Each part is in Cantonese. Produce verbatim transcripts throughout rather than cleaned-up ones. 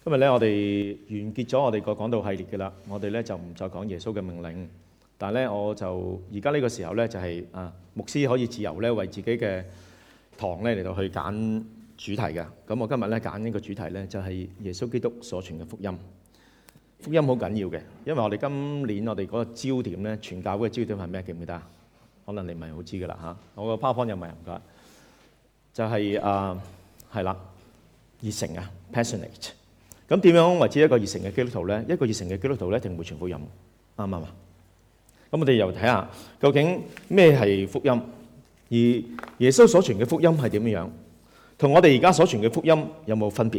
今日咧，我哋完結咗我哋個講道系列嘅啦。我哋咧就唔再講耶穌嘅命令，但係咧我就而家呢個時候咧就係、是、啊牧師可以自由咧為自己嘅堂咧嚟到去揀主題嘅。咁我今日咧揀呢個主題咧就係、是、耶穌基督所傳嘅福音。福音好緊要嘅，因為我哋今年我哋嗰個焦點咧，傳教會嘅焦點係咩？記唔記得啊？可能你唔係好知噶啦嚇。我個 PowerPoint 有冇唔該？就係啊係啦，熱誠啊 ，passionate。咁點樣為之一個熱誠嘅基督徒咧？一個熱誠嘅基督徒咧，一定會傳福音，啱唔啱啊？咁我哋又睇下究竟咩係福音，而耶穌所傳嘅福音係點樣，同我哋而家所傳嘅福音有冇分別？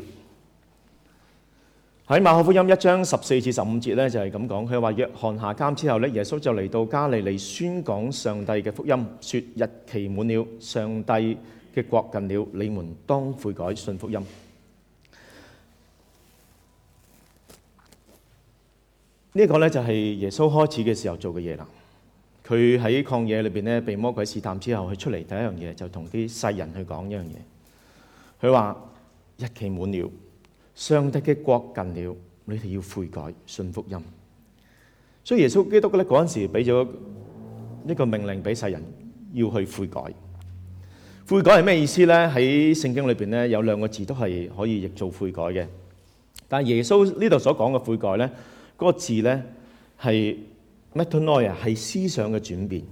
喺馬可福音一章十四至十五節咧，就係咁講。佢話約翰下監之後咧，耶穌就嚟到加利利宣講上帝嘅福音，說日期滿了，上帝嘅國近了，你們當悔改，信福音。呢個咧就係耶穌開始嘅時候做嘅嘢啦。佢喺曠野裏邊咧被魔鬼試探之後，佢出嚟第一樣嘢就同啲世人去講一樣嘢。佢話日期滿了，上帝嘅國近了，你哋要悔改，信福音。所以耶穌基督咧嗰陣時俾咗一個命令俾世人要去悔改。悔改係咩意思咧？喺聖經裏邊咧有兩個字都係可以譯做悔改嘅，但係耶穌呢度所講嘅悔改咧，嗰個字咧係 metanoia，係思想嘅轉變。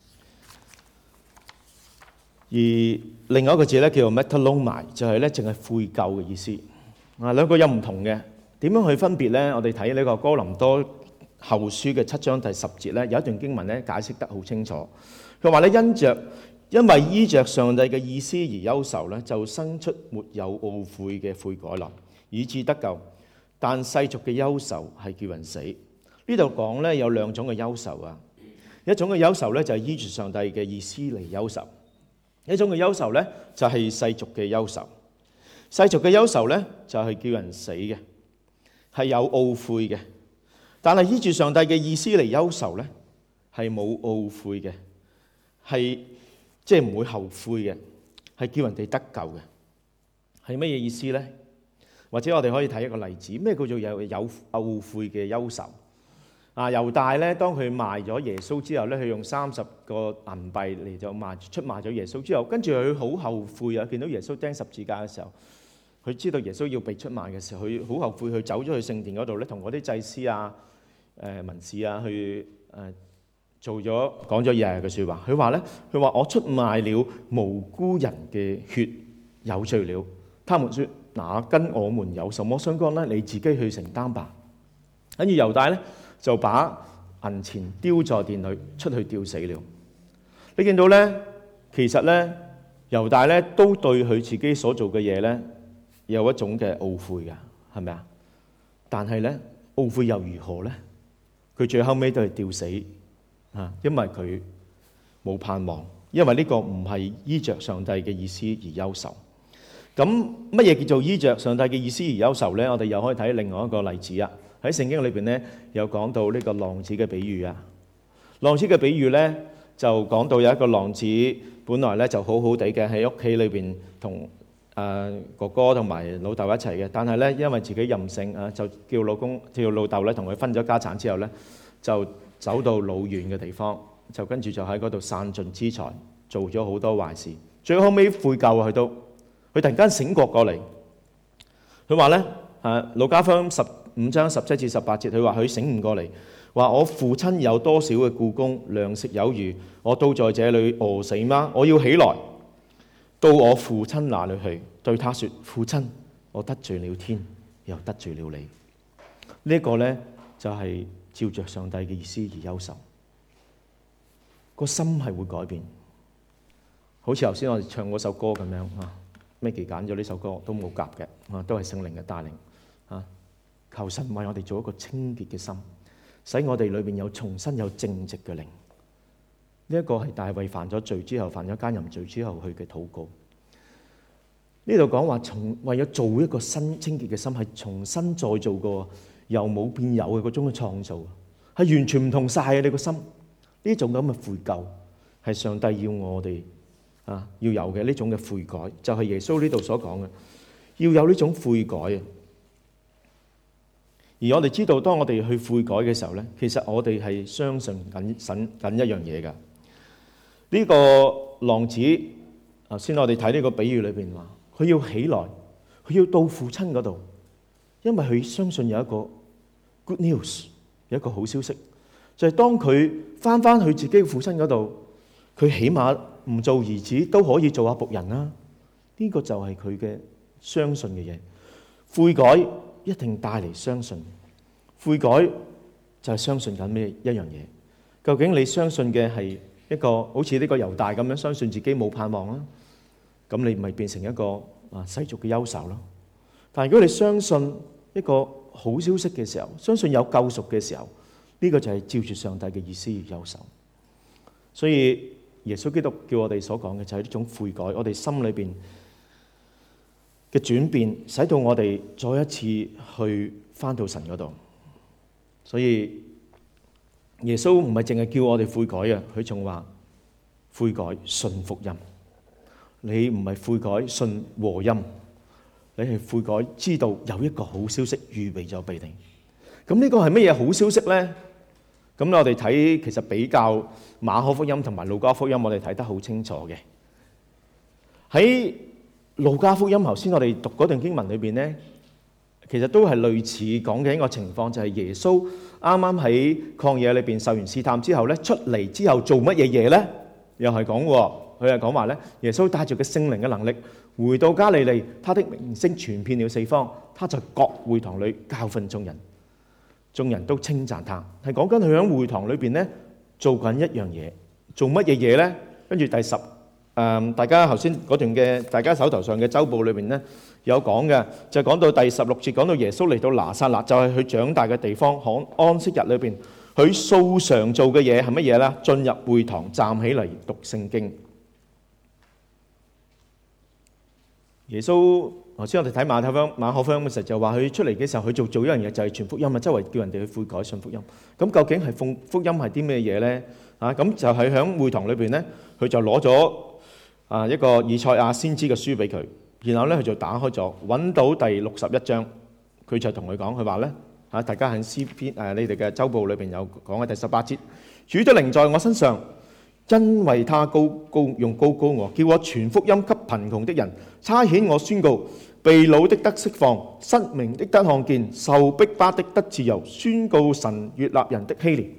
而另外一個字咧叫做 metalomai，就係咧淨係悔疚嘅意思。啊，兩個有唔同嘅，點樣去分別咧？我哋睇呢個哥林多後書嘅七章第十節咧，有一段經文咧解釋得好清楚。佢話咧因着因為依着上帝嘅意思而憂愁咧，就生出沒有懊悔嘅悔改來，以致得救。但世俗嘅憂愁係叫人死。呢度講咧有兩種嘅憂愁啊，一種嘅憂愁咧就係依住上帝嘅意思嚟憂愁，一種嘅憂愁咧就係世俗嘅憂愁。世俗嘅憂愁咧就係叫人死嘅，係有懊悔嘅。但係依住上帝嘅意思嚟憂愁咧，係冇懊悔嘅，係即係唔會後悔嘅，係叫人哋得救嘅。係乜嘢意思咧？或者我哋可以睇一個例子，咩叫做有有懊悔嘅憂愁？啊，猶大咧，當佢賣咗耶穌之後咧，佢用三十個銀幣嚟就賣出賣咗耶穌之後，跟住佢好後悔啊！見到耶穌釘十字架嘅時候，佢知道耶穌要被出賣嘅時候，佢好後悔，佢走咗去聖殿嗰度咧，同嗰啲祭司啊、誒文士啊去誒做咗講咗嘢嘅説話。佢話咧，佢話我出賣了無辜人嘅血，有罪了。他們説：那跟我們有什麼相干呢？你自己去承擔吧。跟住猶大咧就把銀錢丟在殿裏，出去吊死了。你見到咧，其實咧猶大咧都對佢自己所做嘅嘢咧有一種嘅懊悔㗎，係咪啊？但係咧懊悔又如何咧？佢最後尾都係吊死啊，因為佢冇盼望，因為呢個唔係依着上帝嘅意思而憂愁。咁乜嘢叫做依着上帝嘅意思而憂愁咧？我哋又可以睇另外一個例子啊。喺聖經裏邊咧，有講到呢個浪子嘅比喻啊。浪子嘅比喻咧，就講到有一個浪子，本來咧就好好地嘅喺屋企裏邊同誒哥哥同埋老豆一齊嘅，但係咧因為自己任性啊，就叫老公叫老豆咧同佢分咗家產之後咧，就走到老遠嘅地方，就跟住就喺嗰度散盡資財，做咗好多壞事，最後尾悔疚啊，佢都。佢突然間醒覺過嚟，佢話咧誒，路加福音十五章十七至十八節，佢話佢醒悟過嚟，話我父親有多少嘅僱工，糧食有餘，我都在這裡餓死嗎？我要起來到我父親那裡去，對他說：父親，我得罪了天，又得罪了你。呢一個咧就係照着上帝嘅意思而憂愁，個心係會改變，好似頭先我哋唱嗰首歌咁樣啊。Maggie揀咗呢首歌都冇夾嘅，啊，都係聖靈嘅帶領啊！求神為我哋做一個清潔嘅心，使我哋裏邊有重新有正直嘅靈。呢一個係大衛犯咗罪之後，犯咗奸淫罪之後去嘅禱告。呢度講話從為咗做一個新清潔嘅心，係重新再做過由冇變有嘅嗰種嘅創造，係完全唔同晒嘅你個心。呢種咁嘅悔疚係上帝要我哋。啊，要有嘅呢種嘅悔改，就係耶穌呢度所講嘅，要有呢種悔改啊！ 而我哋知道，當我哋去悔改嘅時候咧，其實我哋係相信緊緊緊一樣嘢㗎。呢個浪子頭先我哋睇呢個比喻裏邊話，佢要起來，佢要到父親嗰度，因為佢相信有一個 good news， 有一個好消息，就係當佢翻翻去自己嘅父親嗰度，佢起碼唔做兒子都可以做下僕人啦。呢個就係佢嘅相信嘅嘢。悔改一定帶嚟相信，悔改就係相信緊咩一樣嘢？究竟你相信嘅係一個好似呢個猶大咁樣相信自己冇盼望啦，咁你咪變成一個啊世俗嘅憂愁咯。但係如果你相信一個好消息嘅時候，相信有救贖嘅時候，呢個就係照住上帝嘅意思而憂愁。所以耶穌基督叫我哋所講嘅就係呢種悔改，我哋心裏邊嘅轉變，使到我哋再一次去翻到神嗰度。所以耶穌唔係淨係叫我哋悔改啊，佢仲話悔改信福音。你唔係悔改信和音，你係悔改知道有一個好消息預備咗俾你。咁呢個係乜嘢好消息呢？咁我哋睇其實比較馬可福音同埋路加福音，我哋睇得好清楚嘅。喺路加福音頭先我哋讀嗰段經文裏邊呢，其實都係類似講嘅一個情況，就係耶穌啱啱喺曠野裏邊受完試探之後咧，出嚟之後做乜嘢嘢咧？又係講喎，佢係講話咧，耶穌帶住嘅聖靈嘅能力回到加利利，他的名聲傳遍了四方，他在各會堂裏教訓眾人，眾人都稱讚他。係講緊佢喺會堂裏邊咧做緊一樣嘢，做乜嘢嘢咧？跟住第十。誒，大家頭先嗰段嘅大家手頭上嘅週報裏邊咧有講嘅，就講到第十六節，講到耶穌嚟到拿撒勒，就係佢長大嘅地方。喺安息日裏邊，佢素常做嘅嘢係乜嘢咧？進入會堂，站起嚟讀聖經。耶穌頭先我哋睇馬太福音、馬可福音嘅時候，就話佢出嚟嘅時候，佢做做一樣嘢，就係傳福音啊，周圍叫人哋去悔改信福音。咁究竟係奉福音係啲咩嘢咧？啊，咁就係喺會堂裏邊咧，佢就攞咗啊一個以賽亞先知嘅書俾佢，然後咧佢就打開咗，揾到第六十一章，佢就同佢講，佢話咧嚇，大家喺詩篇誒你哋嘅週報裏邊有講嘅第十八節，主的靈在我身上，因為他高高用高高我，叫我傳福音給貧窮的人，差遣我宣告被擄的得釋放，失明的得看見，受逼迫的得自由，宣告神悅納人的禧年。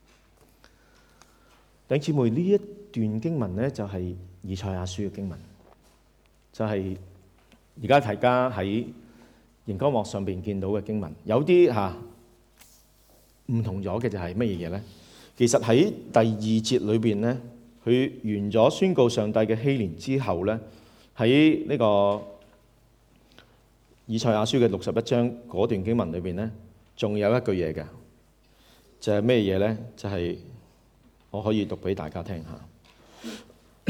弟兄姊妹，呢一段經文咧就係以賽亞書嘅經文，就係而家大家喺熒光幕上邊見到嘅經文。有啲嚇唔同咗嘅就係乜嘢嘢咧？其實喺第二節裏邊咧，佢完咗宣告上帝嘅禧年之後咧，喺呢個以賽亞書嘅六十一章嗰段經文裏邊咧，仲有一句嘢嘅，就係咩嘢咧？就係、是、我可以讀俾大家聽下。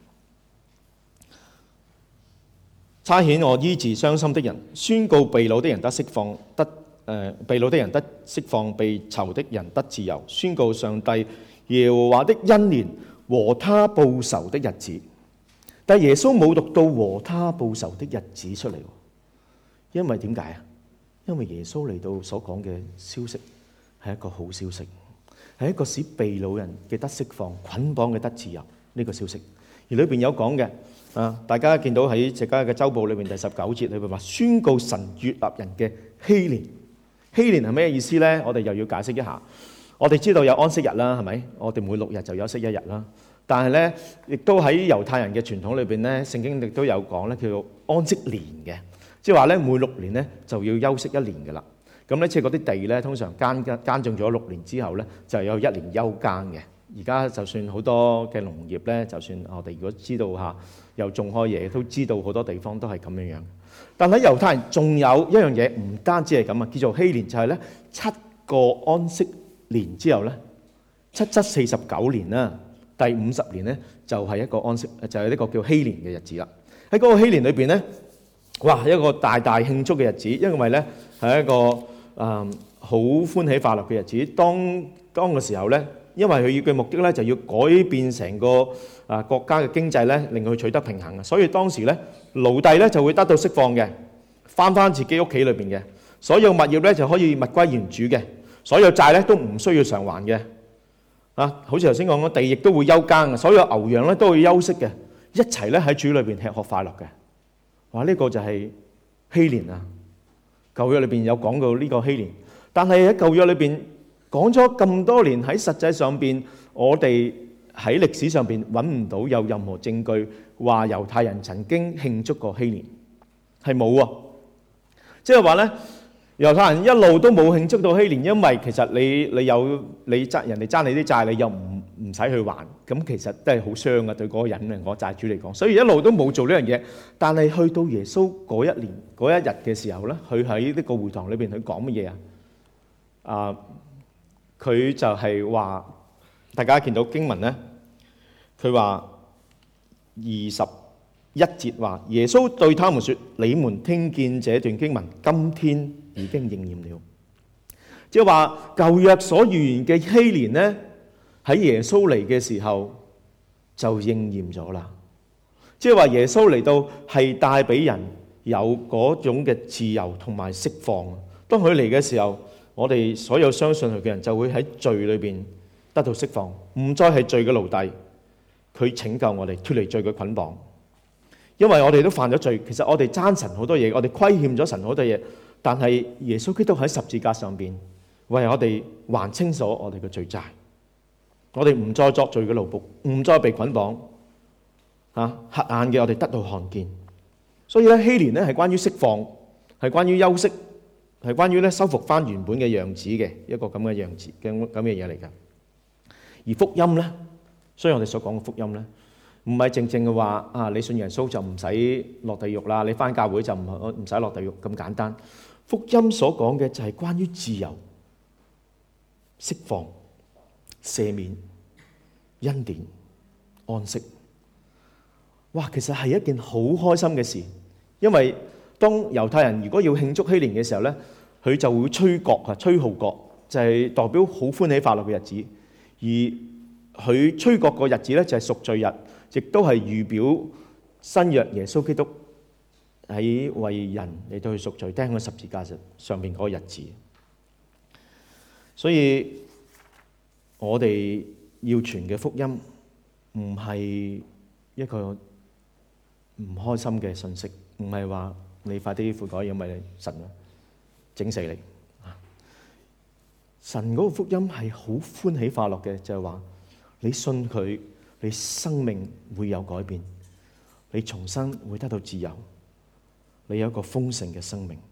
差遣我醫治傷心的人，宣告被擄的人得釋放，得誒、呃、被擄的人得釋放，被囚的人得自由，宣告上帝耶和華的恩年和他報仇的日子。但係耶穌冇讀到和他報仇的日子出嚟，因為點解啊？因為耶穌嚟到所講嘅消息係一個好消息，係一個使被擄人嘅得釋放、捆綁嘅得自由呢個消息。而裏邊有講嘅啊，大家見到喺隻家嘅週報裏邊第十九節裏邊話宣告神悅納人嘅禧年。禧年係咩意思咧？我哋又要解釋一下。我哋知道有安息日啦，係咪？我哋每六日就休息一日啦。但係咧，亦都喺猶太人嘅傳統裏邊咧，聖經亦都有講咧，叫做安息年嘅，即係話咧每六年咧就要休息一年嘅啦。咁咧，即係嗰啲地咧，通常耕耕耕種咗六年之後咧，就有一年休耕嘅。而家就算好多嘅農業咧，就算我哋如果知道下又種開嘢，都知道好多地方都係咁樣樣。但喺猶太人仲有一樣嘢，唔單止係咁啊，叫做禧年，就係咧七個安息年之後咧，七七四十九年啦，第五十年咧就係一個安息，就係呢個叫禧年嘅日子啦。喺嗰個禧年裏邊咧，哇，一個大大慶祝嘅日子，因為咧係一個誒好歡喜快樂嘅日子。當當嘅時候咧，因為佢要嘅目的咧，就要改變成個啊國家嘅經濟咧，令佢取得平衡啊。所以當時咧，奴隸咧就會得到釋放嘅，翻翻自己屋企裏邊嘅。 所有物業咧就可以物歸原主嘅，所有債咧都唔需要償還嘅。啊，好似頭先講嘅地亦都會休耕嘅，所有牛羊咧都會休息嘅，一齊咧喺主裏邊吃喝快樂嘅。哇！呢個就係希連啊！舊約裏邊有講到呢個希連，但係喺舊約裏邊講咗咁多年，喺實際上邊，我哋喺歷史上邊揾唔到有任何證據話猶太人曾經慶祝過希連，係冇啊！即係話咧，猶太人一路都冇慶祝到希連，因為其實你你有你爭人哋爭你啲債，你又唔唔使去還，咁其實都係好傷嘅對嗰個人嘅嗰債主嚟講，所以一路都冇做呢樣嘢。但係去到耶穌嗰一年嗰一日嘅時候咧，佢喺呢個會堂裏邊佢講乜嘢啊？啊，佢就係話，大家見到經文咧，佢話二十一節話，耶穌對他們說：你們聽見這段經文，今天已經應驗了。即係話舊約所預言嘅希連咧，喺耶穌嚟嘅時候就應驗咗啦。即係話耶穌嚟到係帶俾人有嗰種嘅自由同埋釋放。當佢嚟嘅時候，我哋所有相信佢嘅人就會喺罪裏邊得到釋放，唔再係罪嘅奴隸。佢拯救我哋脫離罪嘅捆綁。因為我哋都犯咗罪，其實我哋爭神好多嘢，我哋虧欠咗神好多嘢，但係耶穌基督喺十字架上邊為我哋還清楚我哋嘅罪債，我哋唔再作罪嘅奴僕，唔再被捆綁。嚇，瞎眼嘅我哋得到看見。所以咧，希連咧係關於釋放，係關於休息，係關於咧修復翻原本嘅樣子嘅一個咁嘅樣子嘅咁嘅嘢嚟㗎。而福音咧，所以我哋所講嘅福音咧，唔係正正嘅話啊，你信耶穌就唔使落地獄啦，你返教會就唔唔使落地獄咁簡單。福音所講嘅就係關於自由、釋放、赦免、恩典、安息。哇，其實係一件好開心嘅事，因為當猶太人如果要慶祝希年嘅時候咧，佢就會吹角啊，吹號角，就係代表好歡喜快樂嘅日子。而佢吹角個日子咧就係贖罪日，亦都係預表新約耶穌基督喺為人嚟到去贖罪釘喺十字架上邊嗰個日子。所以我哋要傳嘅福音唔係一個唔開心嘅信息，唔係話你快啲悔改，因為神整死你。神嗰個福音係好歡喜快樂嘅，就係話你信佢，你生命會有改變，你重新會得到自由，你有一個豐盛嘅生命。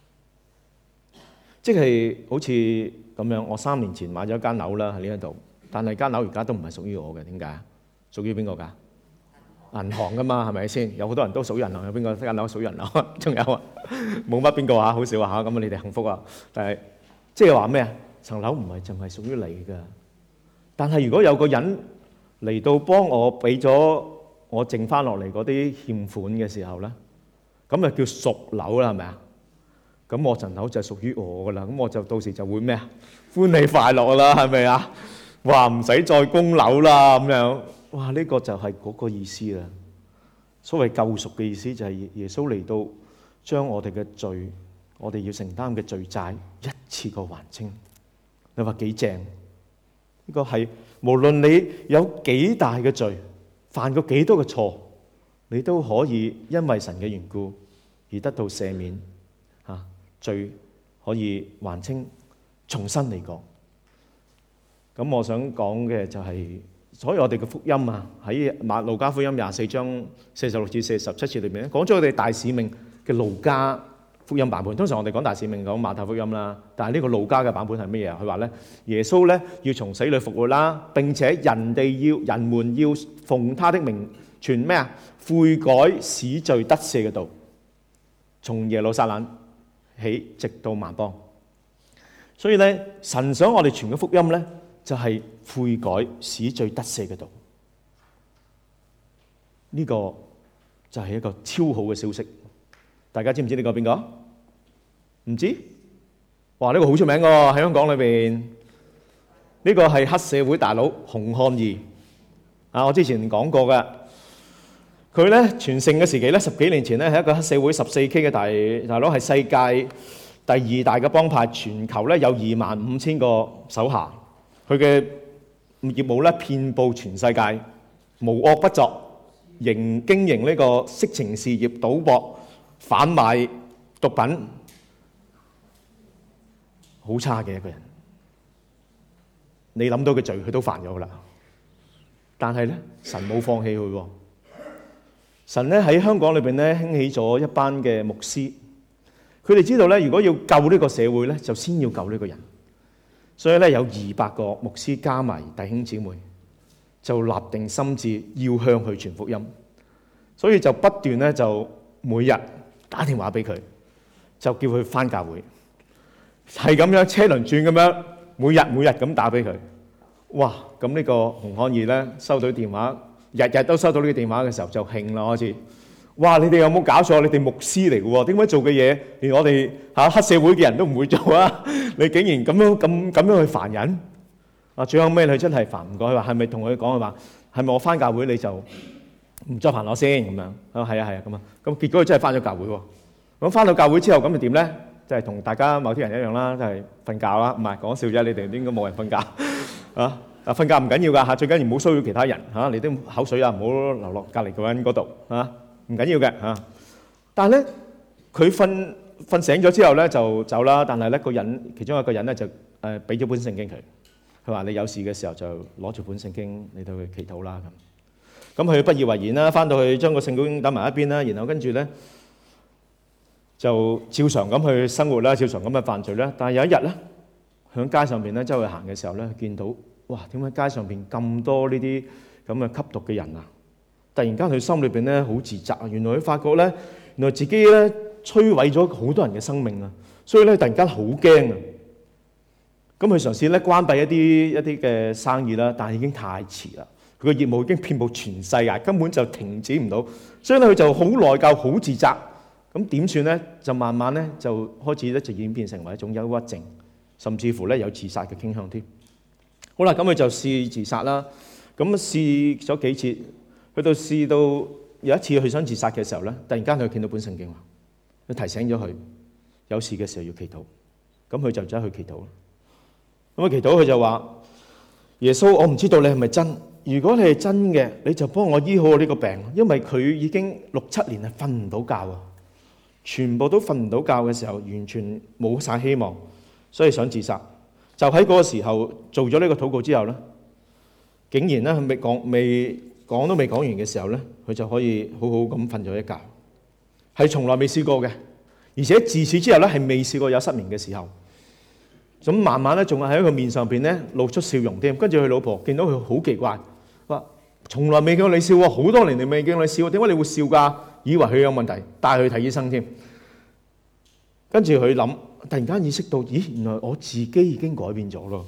即係好似咁樣，我三年前買咗間樓啦喺呢一度，但係間樓而家都唔係屬於我嘅，點解？屬於邊個㗎？銀行㗎嘛，係咪先？有好多人都屬於銀行，有邊個間樓屬於銀行？仲有啊，冇乜邊個嚇，好少嚇。咁你哋幸福啊！但係即係話咩啊？層樓唔係淨係屬於你㗎，但係如果有個人嚟到幫我俾咗我剩翻落嚟嗰啲欠款嘅時候咧，咁就叫贖樓啦，係咪啊？咁我層樓就係屬於我㗎啦，咁我就到時就會咩啊？歡喜快樂啦，係咪啊？話唔使再供樓啦咁樣，哇！呢個就係嗰個意思啦。所謂救贖嘅意思就係耶穌嚟到將我哋嘅罪，我哋要承擔嘅罪債一次過還清。你話幾正？呢個係無論你有幾大嘅罪，犯過幾多嘅錯，你都可以因為神嘅緣故而得到赦免，嚇罪可以還清，重新嚟過。咁我想講嘅就係，所以我哋嘅福音啊，喺馬路加福音廿四章四十六至四十七節裏面咧，講咗我哋大使命嘅路加福音版本。通常我哋講大使命講馬太福音啦，但係呢個路加嘅版本係乜嘢啊？佢話咧，耶穌咧要從死裏復活啦，並且人哋要人們要奉他的名傳咩啊？悔改使罪得赦嘅道，從耶路撒冷起直到萬邦。所以咧，神想我哋傳嘅福音咧，就係悔改使罪得赦嘅道。呢個就係一個超好嘅消息。大家知唔知呢個邊個？唔知？哇！呢個好出名㗎喎，喺香港裏邊。呢個係黑社會大佬洪漢義啊！我之前講過㗎。佢咧全盛嘅時期咧，十幾年前咧係一個黑社會十四 K 嘅大大佬，係世界第二大嘅幫派，全球咧有二萬五千個手下，佢嘅業務咧遍佈全世界，無惡不作，營經營呢個色情事業、賭博、販賣毒品，好差嘅一個人。你諗到嘅罪，佢都犯咗噶啦。但係咧，神冇放棄佢喎。神咧喺香港裏邊咧興起咗一班嘅牧師，佢哋知道咧，如果要救呢個社會咧，就先要救呢個人。所以咧有二百個牧師加埋弟兄姊妹，就立定心志要向佢傳福音。所以就不斷咧就每日打電話俾佢，就叫佢返教會，係咁樣車輪轉咁樣，每日每日咁打俾佢。哇！咁呢個洪漢義咧收到電話，日日都收到呢個電話嘅時候就興啦開始。哇！你哋有冇搞錯？你哋牧師嚟嘅喎，點解做嘅嘢連我哋嚇黑社會嘅人都唔會做啊？你竟然咁樣咁咁樣去煩人啊！最後尾佢真係煩唔過，佢話係咪同佢講佢話係咪我返教會你就唔再煩我先咁樣？啊係啊係啊咁啊！咁結果佢真係返咗教會喎。咁返到教會之後咁就點咧？就係同大家某啲人一樣啦，就係瞓覺啦。唔係講笑啫，你哋應該冇人瞓覺啊！啊瞓覺唔緊要㗎嚇，最緊要唔好騷擾其他人嚇，你啲口水啊唔好流落隔離嗰人嗰度嚇。唔緊要嘅嚇，但係咧佢瞓瞓醒咗之後咧就走啦。但係咧個人其中一個人咧就誒俾咗本聖經佢，佢話你有事嘅時候就攞住本聖經嚟到去祈禱啦咁。咁佢不以為然啦，翻到去將個聖經打埋一邊啦，然後跟住咧就照常咁去生活啦，照常咁去犯罪啦。但係有一日咧，喺街上邊咧周圍行嘅時候咧，見到哇點解街上邊咁多呢啲咁嘅吸毒嘅人啊！突然間佢心裏邊咧好自責啊！原來佢發覺咧，原來自己咧摧毀咗好多人嘅生命啊！所以咧突然間好驚啊！咁佢嘗試咧關閉一啲一啲嘅生意啦，但係已經太遲啦。佢嘅業務已經遍佈全世界，根本就停止唔到。所以咧佢就好內疚、好自責。咁點算咧？就慢慢咧就開始咧就演變成為一種憂鬱症，甚至乎咧有自殺嘅傾向添。好啦，咁佢就試自殺啦。咁試咗幾次。去到試到有一次佢想自殺嘅時候咧，突然間佢見到本聖經話，佢提醒咗佢有事嘅時候要祈禱，咁佢就走去祈禱啦。咁啊祈禱佢就話：耶穌，我唔知道你係咪真，如果你係真嘅，你就幫我醫好我呢個病，因為佢已經六七年係瞓唔到覺啊，全部都瞓唔到覺嘅時候，完全冇晒希望，所以想自殺。就喺嗰個時候做咗呢個禱告之後咧，竟然咧佢未講未。講都未講完嘅時候咧，佢就可以好好咁瞓咗一覺，係從來未試過嘅，而且自此之後咧係未試過有失眠嘅時候。咁慢慢咧仲係喺佢面上邊咧露出笑容添。跟住佢老婆見到佢好奇怪，話從來未見過你笑喎，好多年嚟未見過你笑，點解你會笑㗎？以為佢有問題，帶佢去睇醫生添。跟住佢諗，突然間意識到，咦，原來我自己已經改變咗咯。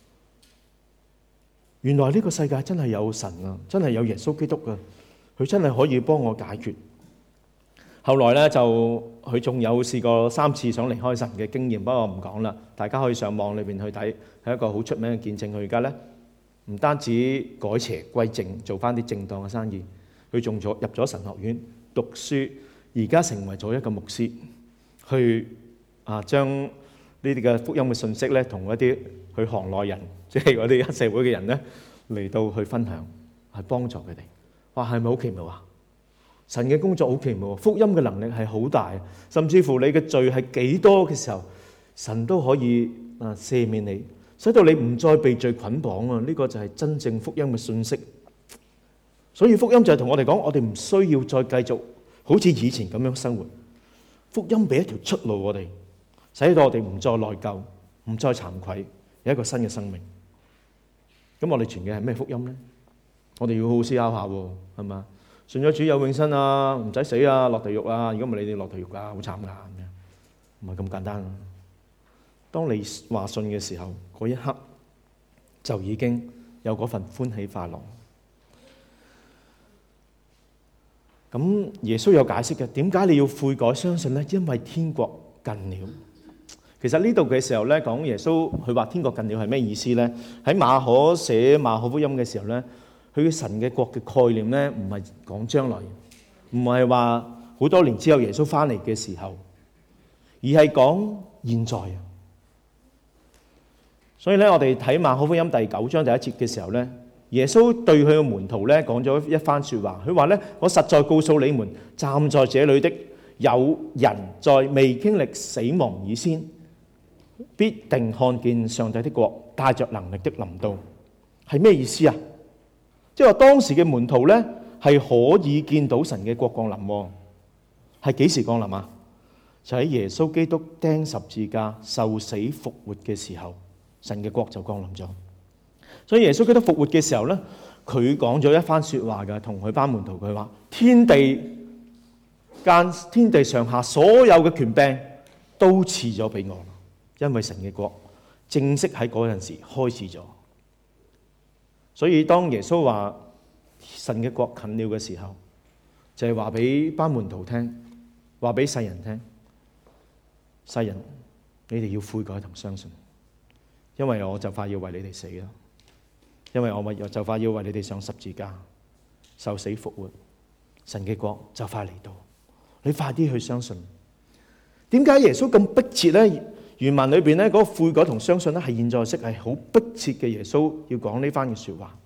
原來呢個世界真係有神啊，真係有耶穌基督啊，佢真係可以幫我解決。後來咧就佢仲有試過三次想離開神嘅經驗，不過我唔講啦，大家可以上網裏邊去睇，係一個好出名嘅見證。佢而家咧唔單止改邪歸正，做翻啲正當嘅生意，佢仲咗入咗神學院讀書，而家成為咗一個牧師，去啊將呢啲嘅福音嘅信息咧，同一啲去行內人，即係嗰啲黑社會嘅人咧，嚟到去分享，係幫助佢哋。哇，係咪好奇妙啊？神嘅工作好奇妙，福音嘅能力係好大，甚至乎你嘅罪係幾多嘅時候，神都可以啊赦免你，使到你唔再被罪捆綁啊！呢個就係真正福音嘅信息。所以福音就係同我哋講，我哋唔需要再繼續好似以前咁樣生活。福音俾一條出路我哋，使到我哋唔再內疚，唔再慚愧，有一個新嘅生命。咁我哋傳嘅係咩福音咧？我哋要好好思考下喎，係嘛？信咗主有永生啊，唔使死啊，落地獄啊！如果唔係你哋落地獄啊，好慘㗎咁樣，唔係咁簡單。當你話信嘅時候，嗰一刻就已經有嗰份歡喜快樂。咁耶穌有解釋嘅，點解你要悔改相信咧？因為天國近了。其實呢度嘅時候咧，講耶穌佢話天國近了係咩意思咧？喺馬可寫馬可福音嘅時候咧，佢嘅神嘅國嘅概念咧，唔係講將來，唔係話好多年之後耶穌翻嚟嘅時候，而係講現在啊。所以咧，我哋睇馬可福音第九章第一節嘅時候咧，耶穌對佢嘅門徒咧講咗一番説話。佢話咧：我實在告訴你們，站在這裏的有人在未經歷死亡以先，必定看見上帝的國帶着能力的臨到。係咩意思啊？即係話當時嘅門徒咧係可以見到神嘅國降臨。係幾時降臨啊？就喺耶穌基督釘十字架、受死復活嘅時候。神嘅國就降臨咗，所以耶穌基督復活嘅時候咧，佢講咗一番說話嘅，同佢班門徒佢話：天地間、天地上下所有嘅權柄都賜咗俾我，因為神嘅國正式喺嗰陣時開始咗。所以當耶穌話神嘅國近了嘅時候，就係話俾班門徒聽，話俾世人聽，世人你哋要悔改同相信。因為我就快要為你哋死啦，因為我咪就快要為你哋上十字架受死復活，神嘅國就快嚟到，你快啲去相信。點解耶穌咁迫切咧？原文裏邊咧嗰個悔改同相信咧係現在式，係好迫切嘅。耶穌要講呢番嘅說話，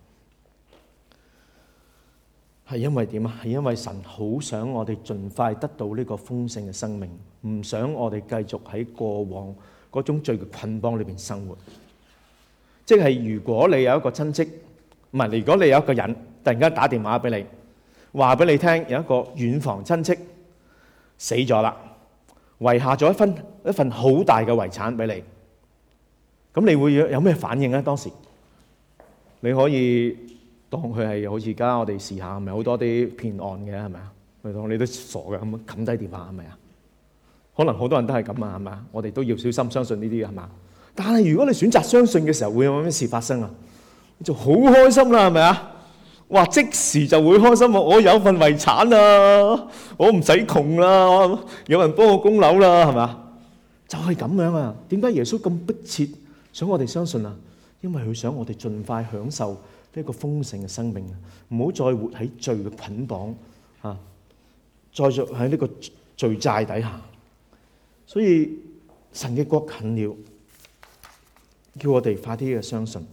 係因為點啊？係因為神好想我哋盡快得到呢個豐盛嘅生命，唔想我哋繼續喺過往嗰種罪嘅捆綁裏邊生活。即係如果你有一個親戚，唔係，如果你有一個人突然間打電話俾你，話俾你聽有一個遠房親戚死咗啦，遺下咗一份一份好大嘅遺產俾你，咁你會有咩反應咧？當時你可以當佢係好似而家我哋時下係咪好多啲騙案嘅，係咪啊？你當你都傻嘅咁冚低電話係咪啊？可能好多人都係咁啊，係咪啊？我哋都要小心相信呢啲係嘛？但係如果你選擇相信嘅時候，會有咩事發生啊？你就好開心啦，係咪啊？哇！即時就會開心啊！我有份遺產啊，我唔使窮啦，有人幫我供樓啦，係咪啊？就係咁樣啊！點解耶穌咁迫切想我哋相信啊？因為佢想我哋盡快享受呢個豐盛嘅生命啊！唔好再活喺罪嘅捆綁啊，再着喺呢個罪債底下。所以神嘅國近了，叫我哋快啲嘅相信。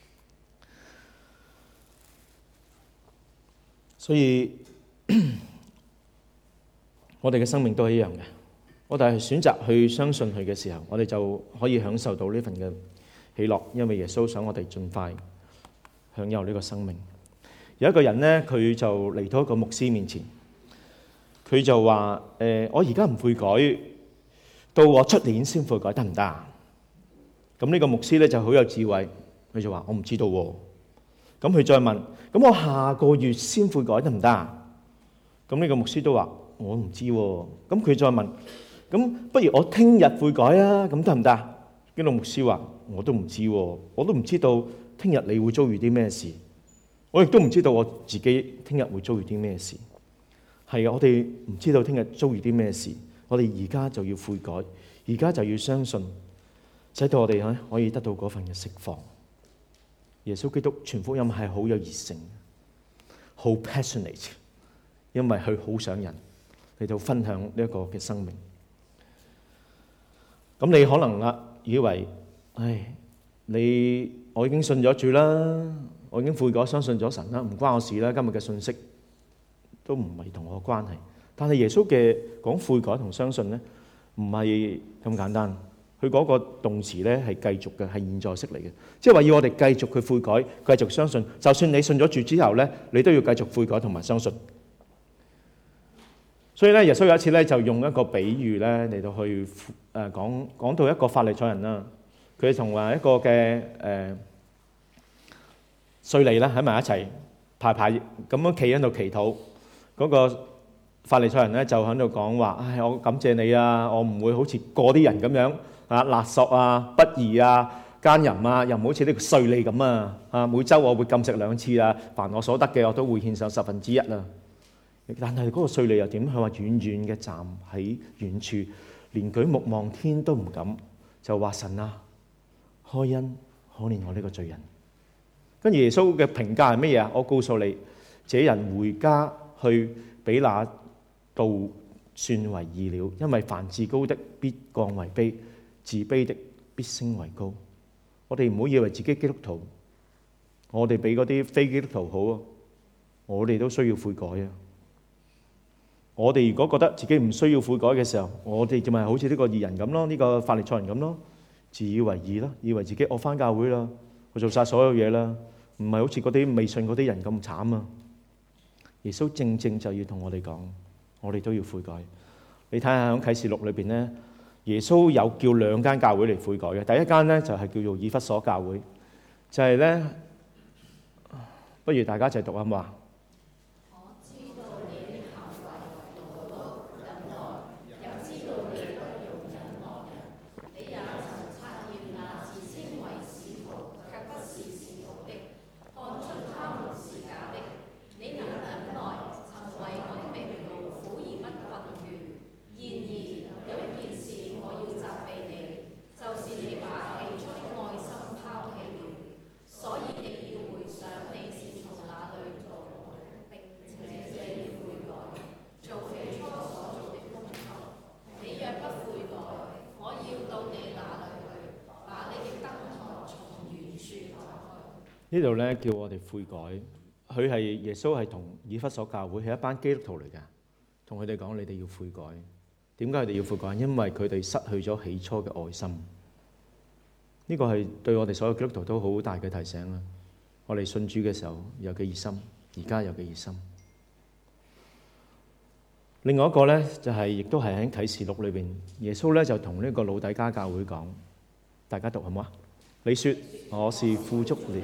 所以我哋嘅生命都係一樣嘅。我哋係選擇去相信佢嘅時候，我哋就可以享受到呢份嘅喜樂，因為耶穌想我哋盡快享有呢個生命。有一個人呢，佢就嚟到一個牧師面前，佢就話：誒、呃，我而家唔悔改，到我出年先悔改得唔得啊？咁呢個牧師咧就好有智慧，佢就話：我唔知道喎。咁佢再問：咁我下個月先悔改得唔得啊？咁呢個牧師都話：我唔知喎。咁佢再問：咁不如我聽日悔改啊？咁得唔得？呢個牧師話：我都唔知喎，我都唔知道聽日你會遭遇啲咩事，我亦都唔知道我自己聽日會遭遇啲咩事。係啊，我哋唔知道聽日遭遇啲咩事，我哋而家就要悔改，而家就要相信，使到我哋咧可以得到嗰份嘅釋放。耶穌基督傳福音係好有熱誠，好 passionate， 因為佢好想人嚟到分享呢一個嘅生命。咁你可能啊以為，唉，你我已經信咗主啦，我已經悔改相信咗神啦，唔關我事啦。今日嘅信息都唔係同我關係。但係耶穌嘅講悔改同相信咧，唔係咁簡單。佢嗰個動詞咧係繼續嘅，係現在式嚟嘅，即係話要我哋繼續去悔改，繼續相信。就算你信咗主之後咧，你都要繼續悔改同埋相信。所以咧，耶穌有一次咧就用一個比喻咧嚟到去誒講講到一個法利賽人啦，佢同話一個嘅誒稅吏啦喺埋一齊排排咁樣企喺度祈禱，嗰個法利賽人咧就喺度講話：唉，我感謝你啊，我唔會好似嗰啲人咁樣。啊！勒索啊、不義啊、奸淫啊，又唔好似呢個稅吏咁啊！啊，每週我會禁食兩次啊，凡我所得嘅我都會獻上十分之一啊。但係嗰個稅吏又點？佢話遠遠嘅站喺遠處，連舉目望天都唔敢，就話神啊，開恩可憐我呢個罪人。跟住耶穌嘅評價係乜嘢啊？我告訴你，這人回家去比那道算為義了，因為凡自高的必降為卑。 自卑的必升為高。我哋唔好以為自己基督徒，我哋比嗰啲非基督徒好啊！我哋都需要悔改啊！我哋如果覺得自己唔需要悔改嘅時候，我哋就咪好似呢個義人咁咯，呢個法利賽人咁咯，自以為義咯，以為自己我返教會啦，我做晒所有嘢啦，唔係好似嗰啲未信嗰啲人咁慘啊！耶穌正正就要同我哋講，我哋都要悔改。你睇下喺啟示錄裏邊咧，耶穌有叫兩間教會嚟悔改嘅。第一間咧就係叫做以弗所教會，就係咧，不如大家一齊讀啊嘛。呢度咧叫我哋悔改，佢係耶穌係同以弗所教會係一班基督徒嚟嘅，同佢哋講你哋要悔改。點解佢哋要悔改？因為佢哋失去咗起初嘅愛心。呢個係對我哋所有基督徒都好大嘅提醒啦。我哋信主嘅時候有幾熱心，而家有幾熱心。另外一個咧就係亦都係喺啟示錄裏邊，耶穌咧就同呢個老底嘉教會講，大家讀好唔好啊？你說我是富足了。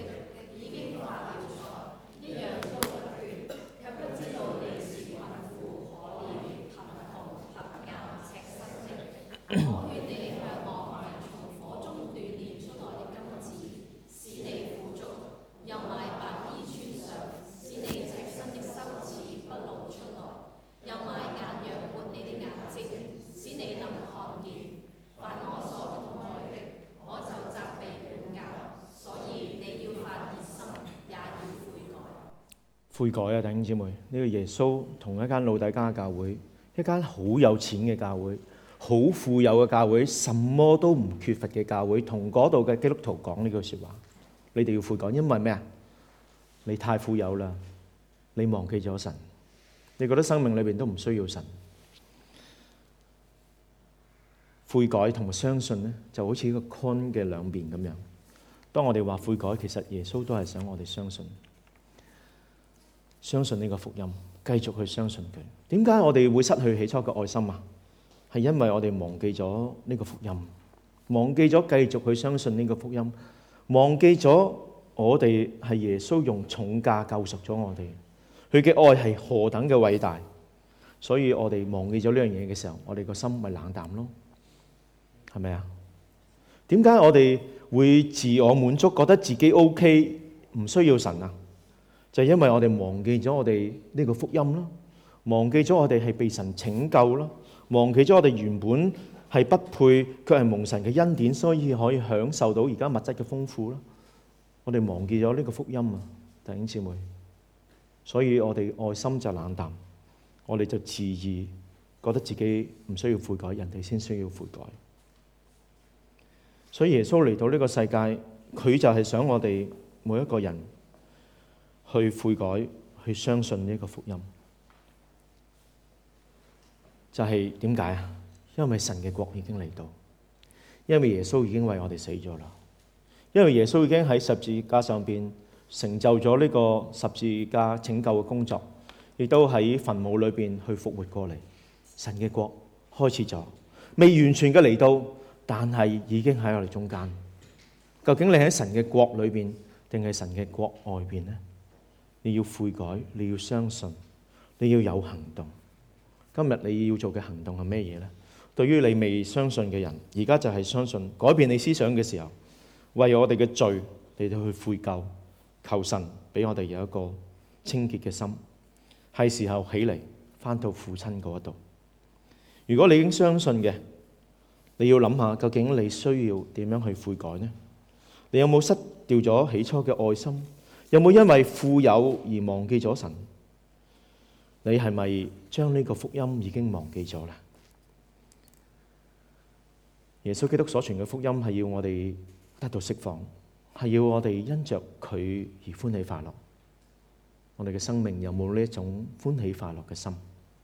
悔改啊，弟兄姊妹！呢個耶穌同一間老底嘉教會，一間好有錢嘅教會，好富有嘅教會，什麼都唔缺乏嘅教會，同嗰度嘅基督徒講呢句説話：你哋要悔改，因為咩啊？你太富有啦，你忘記咗神，你覺得生命裏邊都唔需要神。悔改同埋相信咧，就好似一個 coin 嘅兩邊咁樣。當我哋話悔改，其實耶穌都係想我哋相信。相信呢個福音，繼續去相信佢。點解我哋會失去起初嘅愛心啊？係因為我哋忘記咗呢個福音，忘記咗繼續去相信呢個福音，忘記咗我哋係耶穌用重價救贖咗我哋，佢嘅愛係何等嘅偉大。所以我哋忘記咗呢樣嘢嘅時候，我哋個心咪冷淡咯，係咪啊？點解我哋會自我滿足，覺得自己 OK，唔需要神啊？就係因為我哋忘記咗我哋呢個福音咯，忘記咗我哋係被神拯救咯，忘記咗我哋原本係不配，卻係蒙神嘅恩典，所以可以享受到而家物質嘅豐富咯。我哋忘記咗呢個福音啊，弟兄姊妹，所以我哋愛心就冷淡，我哋就自義，覺得自己唔需要悔改，人哋先需要悔改。所以耶穌嚟到呢個世界，佢就係想我哋每一個人去悔改，去相信呢個福音。就係點解啊？因為神嘅國已經嚟到，因為耶穌已經為我哋死咗啦，因為耶穌已經喺十字架上邊成就咗呢個十字架拯救嘅工作，亦都喺墳墓裏邊去復活過嚟。神嘅國開始咗，未完全嘅嚟到，但係已經喺我哋中間。究竟你喺神嘅國裏邊，定係神嘅國外邊呢？你要悔改，你要相信，你要有行動。今日你要做嘅行動係咩嘢呢？對於你未相信嘅人，而家就係相信，改變你思想嘅時候，為我哋嘅罪嚟到去悔疚，求神俾我哋有一個清潔嘅心，係時候起嚟返到父親嗰度。如果你已經相信嘅，你要諗下究竟你需要點樣去悔改呢？你有冇失掉咗起初嘅愛心？有冇因為富有而忘記咗神？你係咪將呢個福音已經忘記咗啦？ 耶穌基督所傳嘅福音係要我哋得到釋放，係要我哋因着佢而歡喜快樂。我哋嘅生命有冇呢一種歡喜快樂嘅心？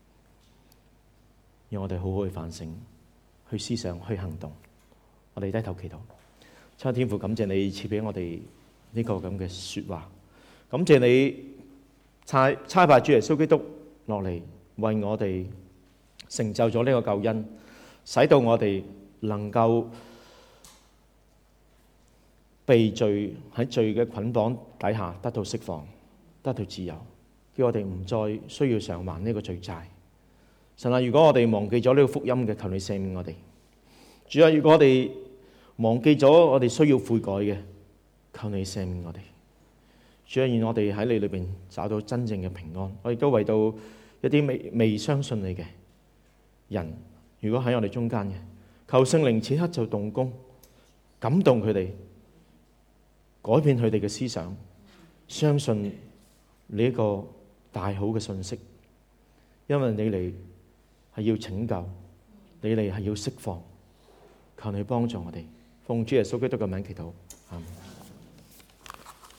讓我哋好好去反省、去思想、去行動。我哋低頭祈禱。親愛天父，感謝你賜俾我哋呢個咁嘅說話，感謝你差差派主耶穌基督落嚟為我哋成就咗呢個救恩，使到我哋能夠被罪喺罪嘅捆綁底下得到釋放，得到自由，叫我哋唔再需要償還呢個罪債。神啊，如果我哋忘記咗呢個福音嘅，求你赦免我哋。主啊，如果我哋忘記咗我哋需要悔改嘅，求你赦免我哋。主啊，願我哋喺你裏邊找到真正嘅平安。我亦都為到一啲未未相信你嘅人，如果喺我哋中間嘅，求聖靈此刻就動工，感動佢哋，改變佢哋嘅思想，相信你一個大好嘅信息，因為你嚟係要拯救，你嚟係要釋放，求你幫助我哋。奉主耶穌基督嘅名祈禱，阿們。